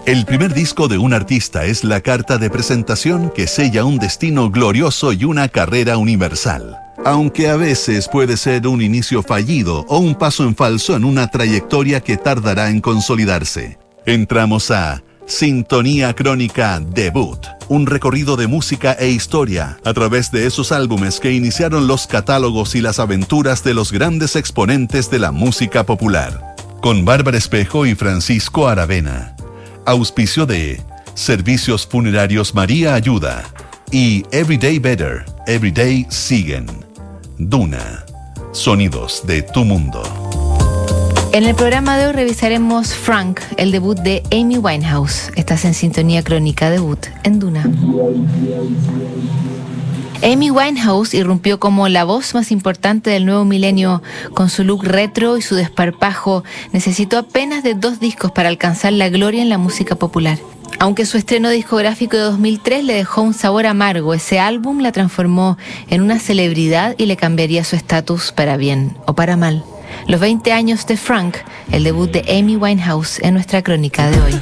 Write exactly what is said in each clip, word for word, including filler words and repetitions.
El primer disco de un artista es la carta de presentación que sella un destino glorioso y una carrera universal. Aunque a veces puede ser un inicio fallido o un paso en falso en una trayectoria que tardará en consolidarse. Entramos a Sintonía Crónica Debut, un recorrido de música e historia a través de esos álbumes que iniciaron los catálogos y las aventuras de los grandes exponentes de la música popular. Con Bárbara Espejo y Francisco Aravena. Auspicio de Servicios Funerarios María Ayuda y Everyday Better, Everyday Siguen. Duna, sonidos de tu mundo. En el programa de hoy revisaremos Frank, el debut de Amy Winehouse. Estás en Sintonía Crónica Debut en Duna. Amy Winehouse irrumpió como la voz más importante del nuevo milenio. Con su look retro y su desparpajo, necesitó apenas de dos discos para alcanzar la gloria en la música popular. Aunque su estreno discográfico de dos mil tres le dejó un sabor amargo, ese álbum la transformó en una celebridad y le cambiaría su estatus para bien o para mal. Los veinte años de Frank, el debut de Amy Winehouse en nuestra crónica de hoy.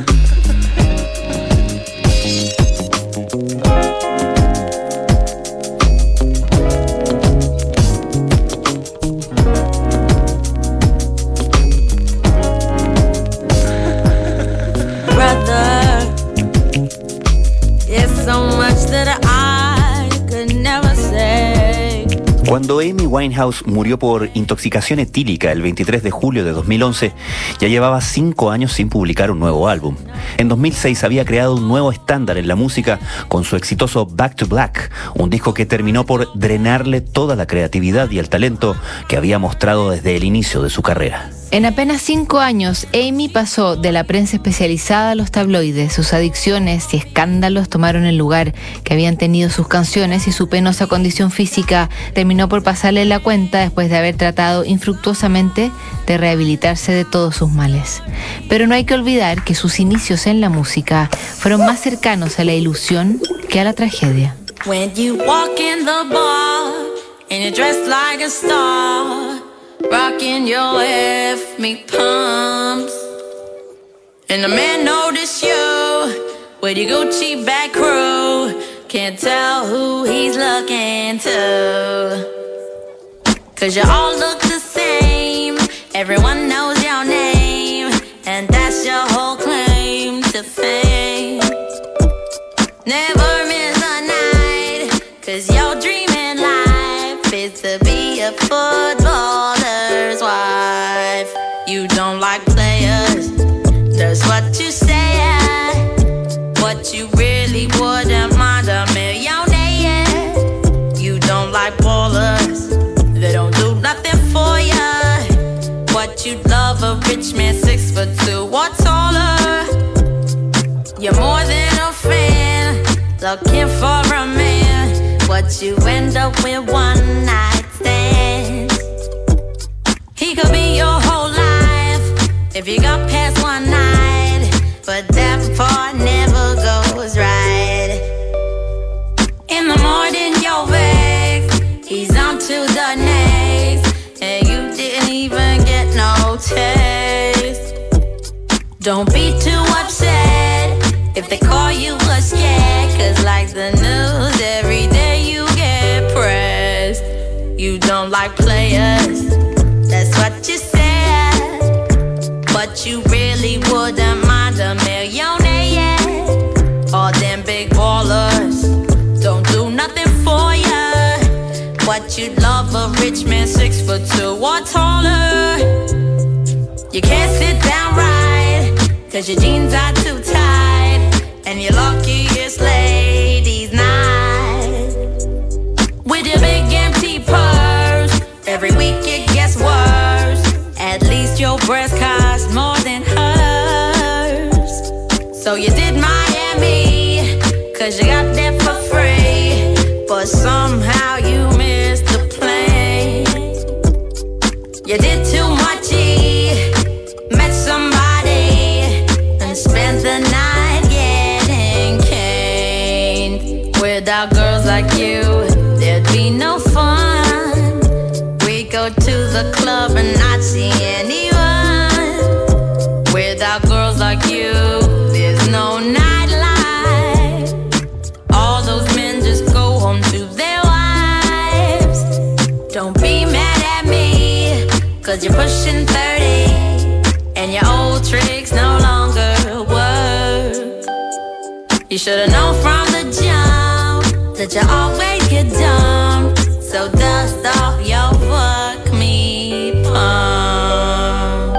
Cuando Amy Winehouse murió por intoxicación etílica el veintitrés de julio de dos mil once, ya llevaba cinco años sin publicar un nuevo álbum. En dos mil seis había creado un nuevo estándar en la música con su exitoso Back to Black, un disco que terminó por drenarle toda la creatividad y el talento que había mostrado desde el inicio de su carrera. En apenas cinco años, Amy pasó de la prensa especializada a los tabloides. Sus adicciones y escándalos tomaron el lugar que habían tenido sus canciones y su penosa condición física terminó por pasarle la cuenta después de haber tratado infructuosamente de rehabilitarse de todos sus males. Pero no hay que olvidar que sus inicios en la música fueron más cercanos a la ilusión que a la tragedia. When you walk in the bar and you're dressed like a star, rocking your F me pumps, and the man notice you with your Gucci back crew, can't tell who he's looking to, cause you all look the same, everyone knows your name, and that's your whole claim to fame. Never miss a night, cause your dream in life is to be a footballer's wife. You don't like players, that's what you say. What you really wouldn't mind a millionaire. You don't like ballers, they don't do nothing for ya. What you'd love a rich man six foot two or taller. You're more than a fan, looking for a man. What you end up with one night stands. He could be your whole life if you got past one night, but that part never goes right. In the morning you're vexed, he's on to the next, and you didn't even get no taste. Don't be too upset if they call you a scared, cause like the news every day you get pressed. You don't like players, that's what you said, but you really wouldn't mind a millionaire. All them big ballers don't do nothing for ya. What you'd love a rich man six foot two or taller. You can't sit down right, cause your jeans are too tight, and you're lucky it's ladies' night. With your big empty purse, every week it gets worse. At least your breast costs more than hers. So you did Miami, cause you got there for free, but somehow you missed the plane. You did too much, E, met somebody, and spent the night getting caned. Without girls like you, there'd be no fun. We go to the club and not see anyone. Without girls like you, there'd 'cause you're pushing thirty and your old tricks no longer work. You should've known from the jump that you always get dumped. So dust off your fuck me pump.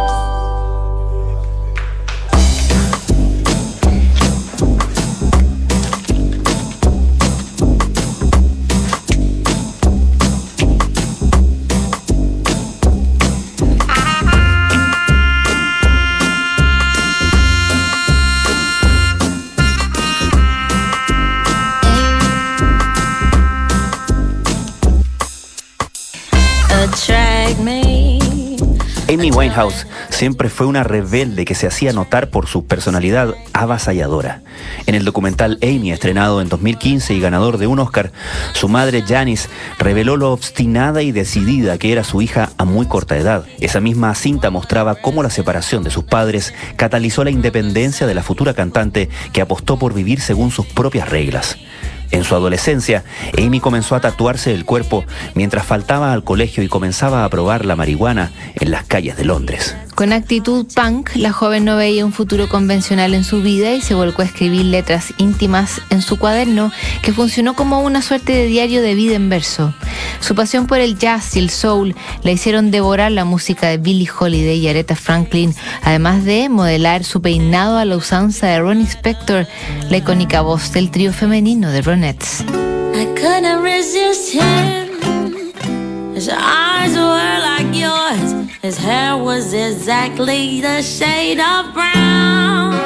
Amy Winehouse siempre fue una rebelde que se hacía notar por su personalidad avasalladora. En el documental Amy, estrenado en dos mil quince y ganador de un Oscar, su madre Janis reveló lo obstinada y decidida que era su hija a muy corta edad. Esa misma cinta mostraba cómo la separación de sus padres catalizó la independencia de la futura cantante, que apostó por vivir según sus propias reglas. En su adolescencia, Amy comenzó a tatuarse el cuerpo mientras faltaba al colegio y comenzaba a probar la marihuana en las calles de Londres. Con actitud punk, la joven no veía un futuro convencional en su vida y se volcó a escribir letras íntimas en su cuaderno, que funcionó como una suerte de diario de vida en verso. Su pasión por el jazz y el soul la hicieron devorar la música de Billie Holiday y Aretha Franklin, además de modelar su peinado a la usanza de Ronnie Spector, la icónica voz del trío femenino de Ronettes. I couldn't resist him. His eyes were like yours. His hair was exactly the shade of brown.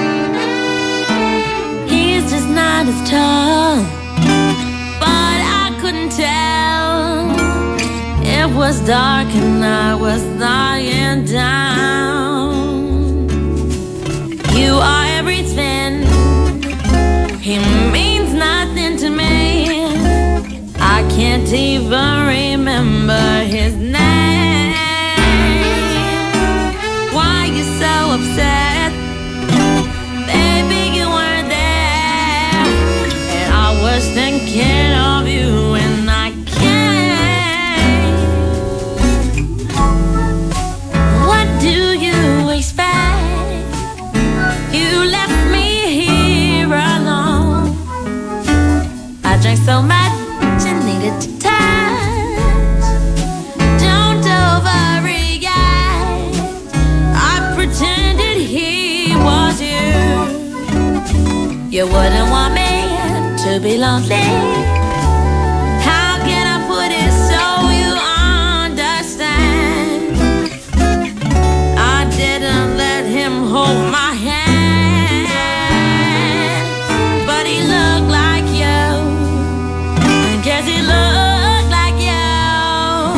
He's just not as tall, but I couldn't tell. It was dark and I was lying down. You are everything. He means nothing to me. I can't even remember his name. Why you so upset? Baby, you weren't there, and I was thinking of you and I can't. What do you expect? You left me here alone. I drank so much and needed to touch. Don't overreact. I pretended he was you. You wouldn't want me to be lonely. How can I put it so you understand? I didn't let him hold my hand, but he looked like you. Guess he looked like you.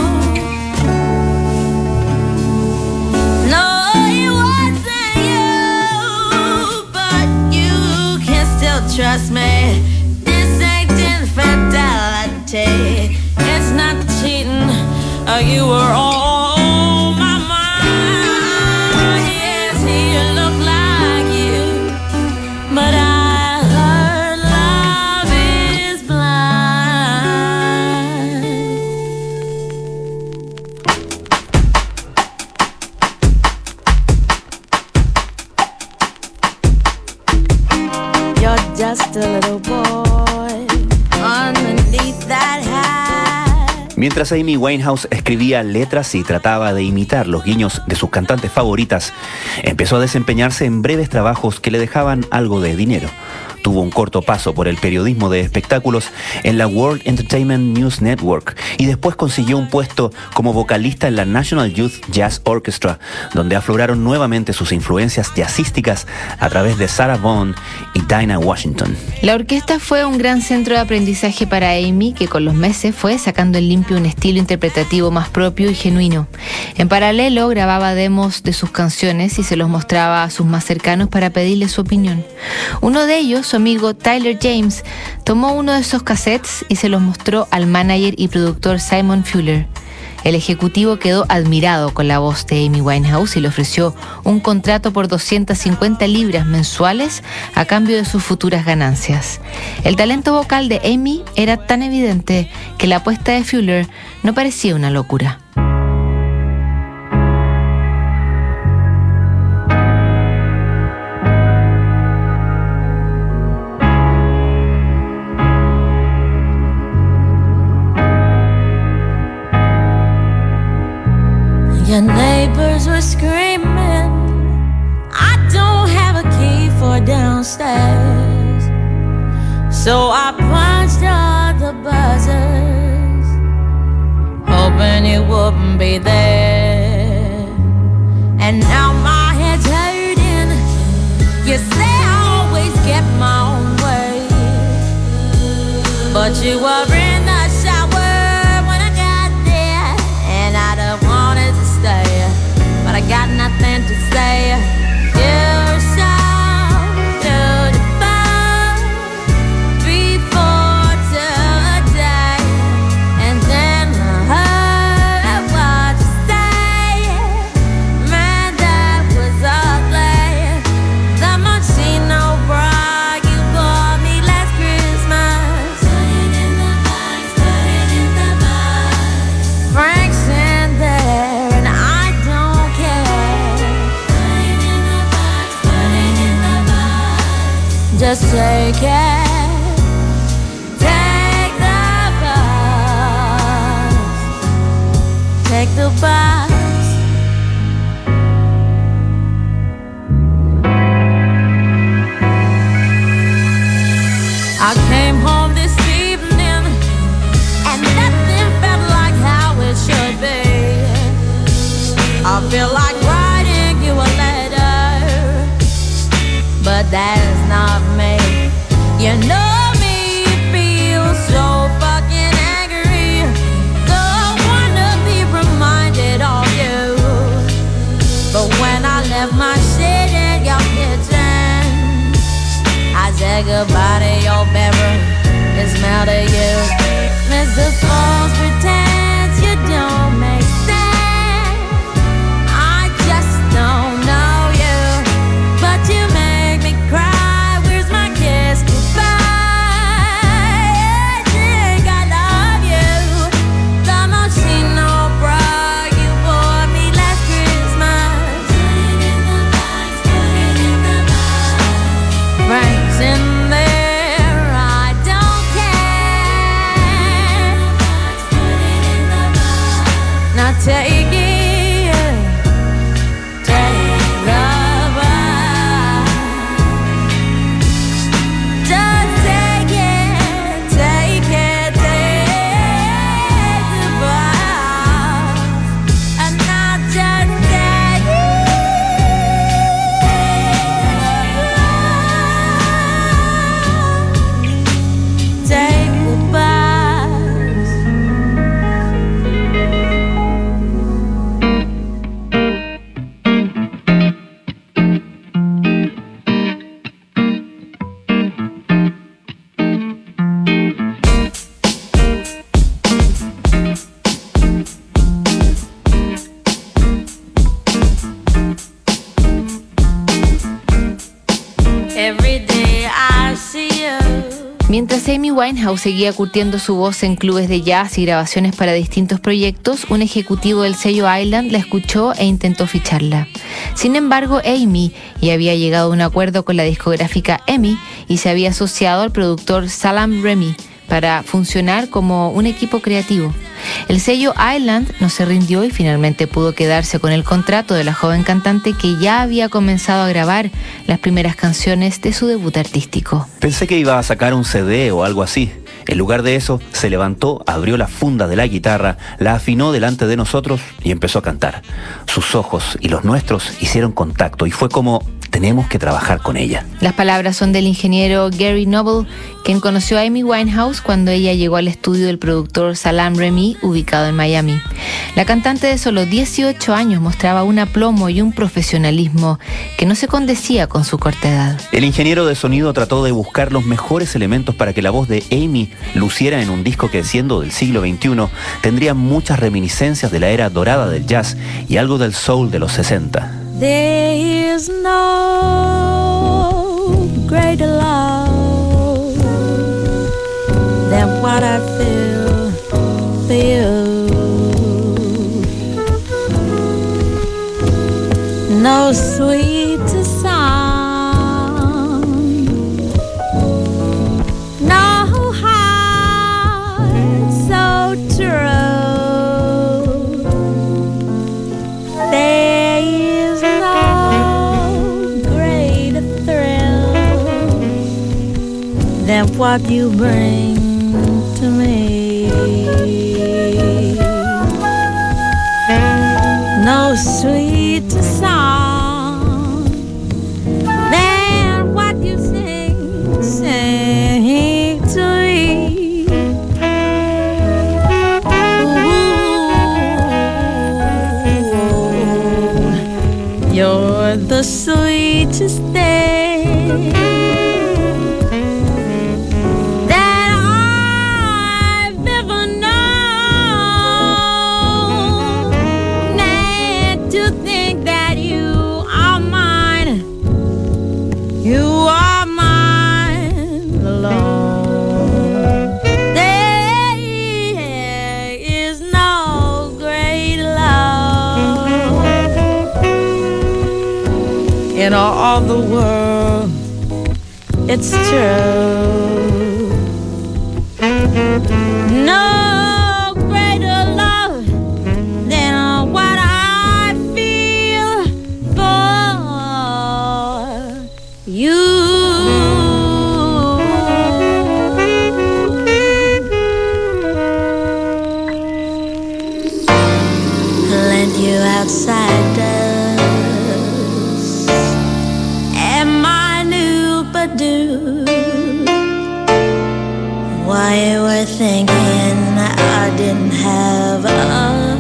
No, it wasn't you, but you can still trust me. This ain't infidelity. It's not cheating. Uh, you were on my mind. Yes, he looked like you, but I just a little boy underneath that hat. Mientras Amy Winehouse escribía letras y trataba de imitar los guiños de sus cantantes favoritas, empezó a desempeñarse en breves trabajos que le dejaban algo de dinero. Tuvo un corto paso por el periodismo de espectáculos en la World Entertainment News Network y después consiguió un puesto como vocalista en la National Youth Jazz Orchestra, donde afloraron nuevamente sus influencias jazzísticas a través de Sarah Vaughan y Dinah Washington. La orquesta fue un gran centro de aprendizaje para Amy, que con los meses fue sacando en limpio un estilo interpretativo más propio y genuino. En paralelo, grababa demos de sus canciones y se los mostraba a sus más cercanos para pedirles su opinión. Uno de ellos, su amigo Tyler James, tomó uno de esos cassettes y se los mostró al manager y productor Simon Fuller. El ejecutivo quedó admirado con la voz de Amy Winehouse y le ofreció un contrato por doscientas cincuenta libras mensuales a cambio de sus futuras ganancias. El talento vocal de Amy era tan evidente que la apuesta de Fuller no parecía una locura. Your neighbors were screaming. I don't have a key for downstairs, so I punched all the buzzers, hoping you wouldn't be there. And now my head's hurting. You say I always get my own way, but you were in the shower when I got there, and I don't wanted to stay, but I got nothing to say. You're so beautiful before today, and then I heard what you say. Man, that was ugly. The Moschino bra you bought me last Christmas. Put it in the box, put it in the box. Frank's in there and I don't care. Put it in the box, put it in the box. Just take it. Take the box. Take the box. I came home this evening and nothing felt like how it should be. I feel like writing you a letter, but that is not me. You know me, feel so fucking angry. So I wanna be reminded of you, but when I left my shit in your kitchen, I said goodbye to your bedroom, it smelled of you. Mister False pretends you don't make sense. I just don't know you, but you make me cry. Where's my kiss goodbye? I think I love you. The Moschino bra you bought me last Christmas. Put it in the box, put it in the box. Frank's in there, I don't care. Put it in the box. Now take it. Take the box. Just take it. Take it. Take the box. And now just take it. Take the box. Every day I see you. Mientras Amy Winehouse seguía curtiendo su voz en clubes de jazz y grabaciones para distintos proyectos, un ejecutivo del sello Island la escuchó e intentó ficharla. Sin embargo, Amy ya había llegado a un acuerdo con la discográfica EMI y se había asociado al productor Salaam Remi para funcionar como un equipo creativo. El sello Island no se rindió y finalmente pudo quedarse con el contrato de la joven cantante que ya había comenzado a grabar las primeras canciones de su debut artístico. Pensé que iba a sacar un C D o algo así. En lugar de eso, se levantó, abrió la funda de la guitarra, la afinó delante de nosotros y empezó a cantar. Sus ojos y los nuestros hicieron contacto y fue como: tenemos que trabajar con ella. Las palabras son del ingeniero Gary Noble, quien conoció a Amy Winehouse cuando ella llegó al estudio del productor Salaam Remi, ubicado en Miami. La cantante de solo dieciocho años mostraba un aplomo y un profesionalismo que no se condecía con su corta edad. El ingeniero de sonido trató de buscar los mejores elementos para que la voz de Amy luciera en un disco que, siendo del siglo veintiuno, tendría muchas reminiscencias de la era dorada del jazz y algo del soul de los sesenta. There is no greater love than what I feel for you. No sweeter song, no heart so true. at what you bring to me. No sweeter song than what you sing, sing to me. Ooh, you're the sweetest thing that I've ever known. And to think that you are mine, you are mine alone. There is no great love in all the world. It's true. No greater love than what I feel for you. Plenty of outsiders and my new Badu. Why you were thinking I didn't have a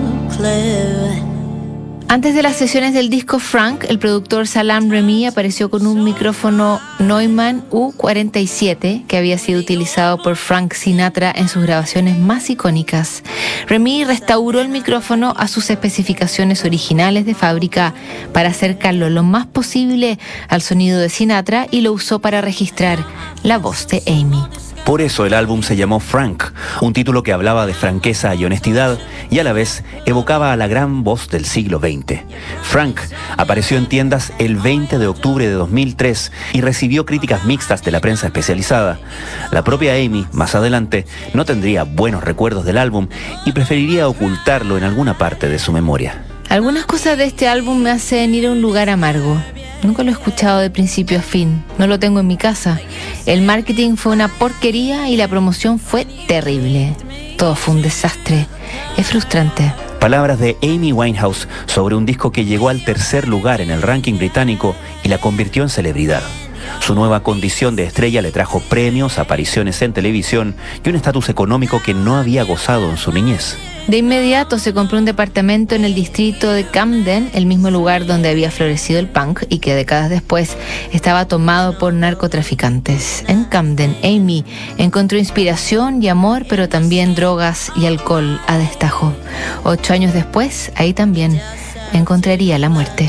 clue. Antes de las sesiones del disco Frank, el productor Salaam Remi apareció con un micrófono Neumann U cuarenta y siete que había sido utilizado por Frank Sinatra en sus grabaciones más icónicas. Remi restauró el micrófono a sus especificaciones originales de fábrica para acercarlo lo más posible al sonido de Sinatra y lo usó para registrar la voz de Amy. Por eso el álbum se llamó Frank, un título que hablaba de franqueza y honestidad y a la vez evocaba a la gran voz del siglo veinte. Frank apareció en tiendas el veinte de octubre de dos mil tres y recibió críticas mixtas de la prensa especializada. La propia Amy, más adelante, no tendría buenos recuerdos del álbum y preferiría ocultarlo en alguna parte de su memoria. Algunas cosas de este álbum me hacen ir a un lugar amargo. Nunca lo he escuchado de principio a fin. No lo tengo en mi casa. El marketing fue una porquería y la promoción fue terrible. Todo fue un desastre. Es frustrante. Palabras de Amy Winehouse sobre un disco que llegó al tercer lugar en el ranking británico y la convirtió en celebridad. Su nueva condición de estrella le trajo premios, apariciones en televisión y un estatus económico que no había gozado en su niñez. De inmediato se compró un departamento en el distrito de Camden, el mismo lugar donde había florecido el punk y que décadas después estaba tomado por narcotraficantes. En Camden, Amy encontró inspiración y amor, pero también drogas y alcohol a destajo. Ocho años después, ahí también encontraría la muerte.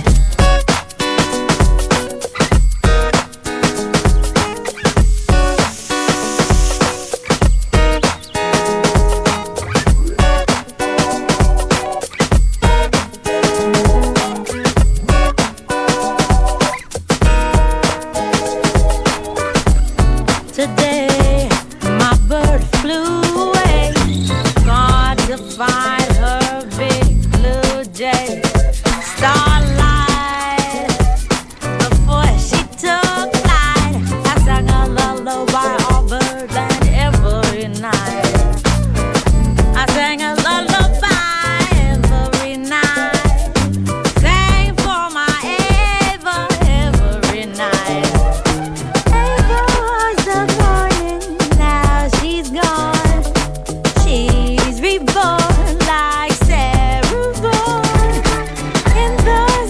Reborn like Sarah Vaughan in the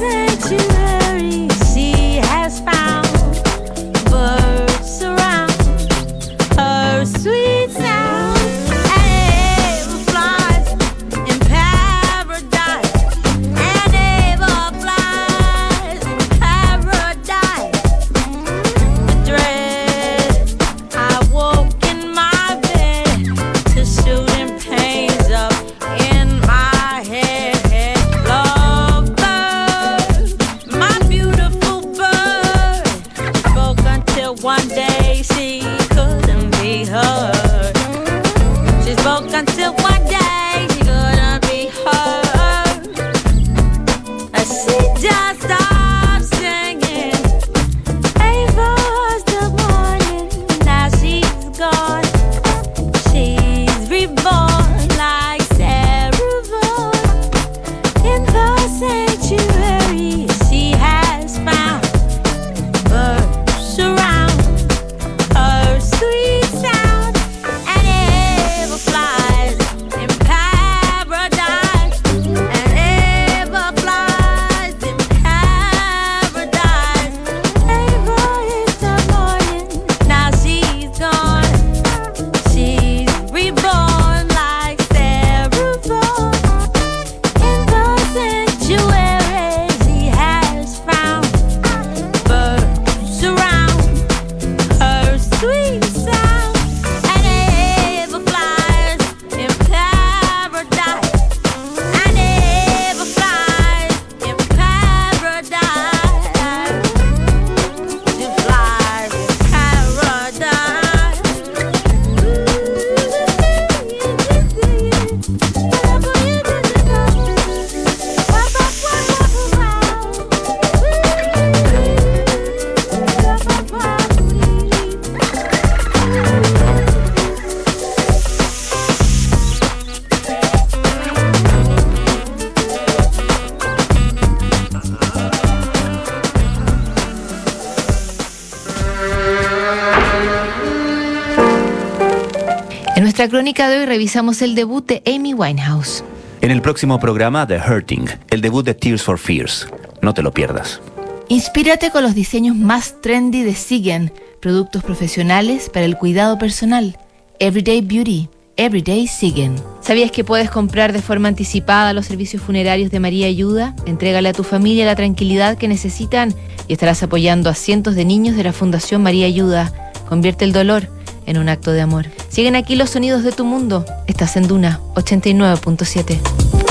nuestra crónica de hoy revisamos el debut de Amy Winehouse. En el próximo programa, The Hurting, el debut de Tears for Fears. No te lo pierdas. Inspírate con los diseños más trendy de Sigen, productos profesionales para el cuidado personal. Everyday Beauty, Everyday Sigen. ¿Sabías que puedes comprar de forma anticipada los servicios funerarios de María Ayuda? Entrégale a tu familia la tranquilidad que necesitan y estarás apoyando a cientos de niños de la Fundación María Ayuda. Convierte el dolor en un acto de amor. Siguen aquí los sonidos de tu mundo. Estás en Duna ochenta y nueve punto siete.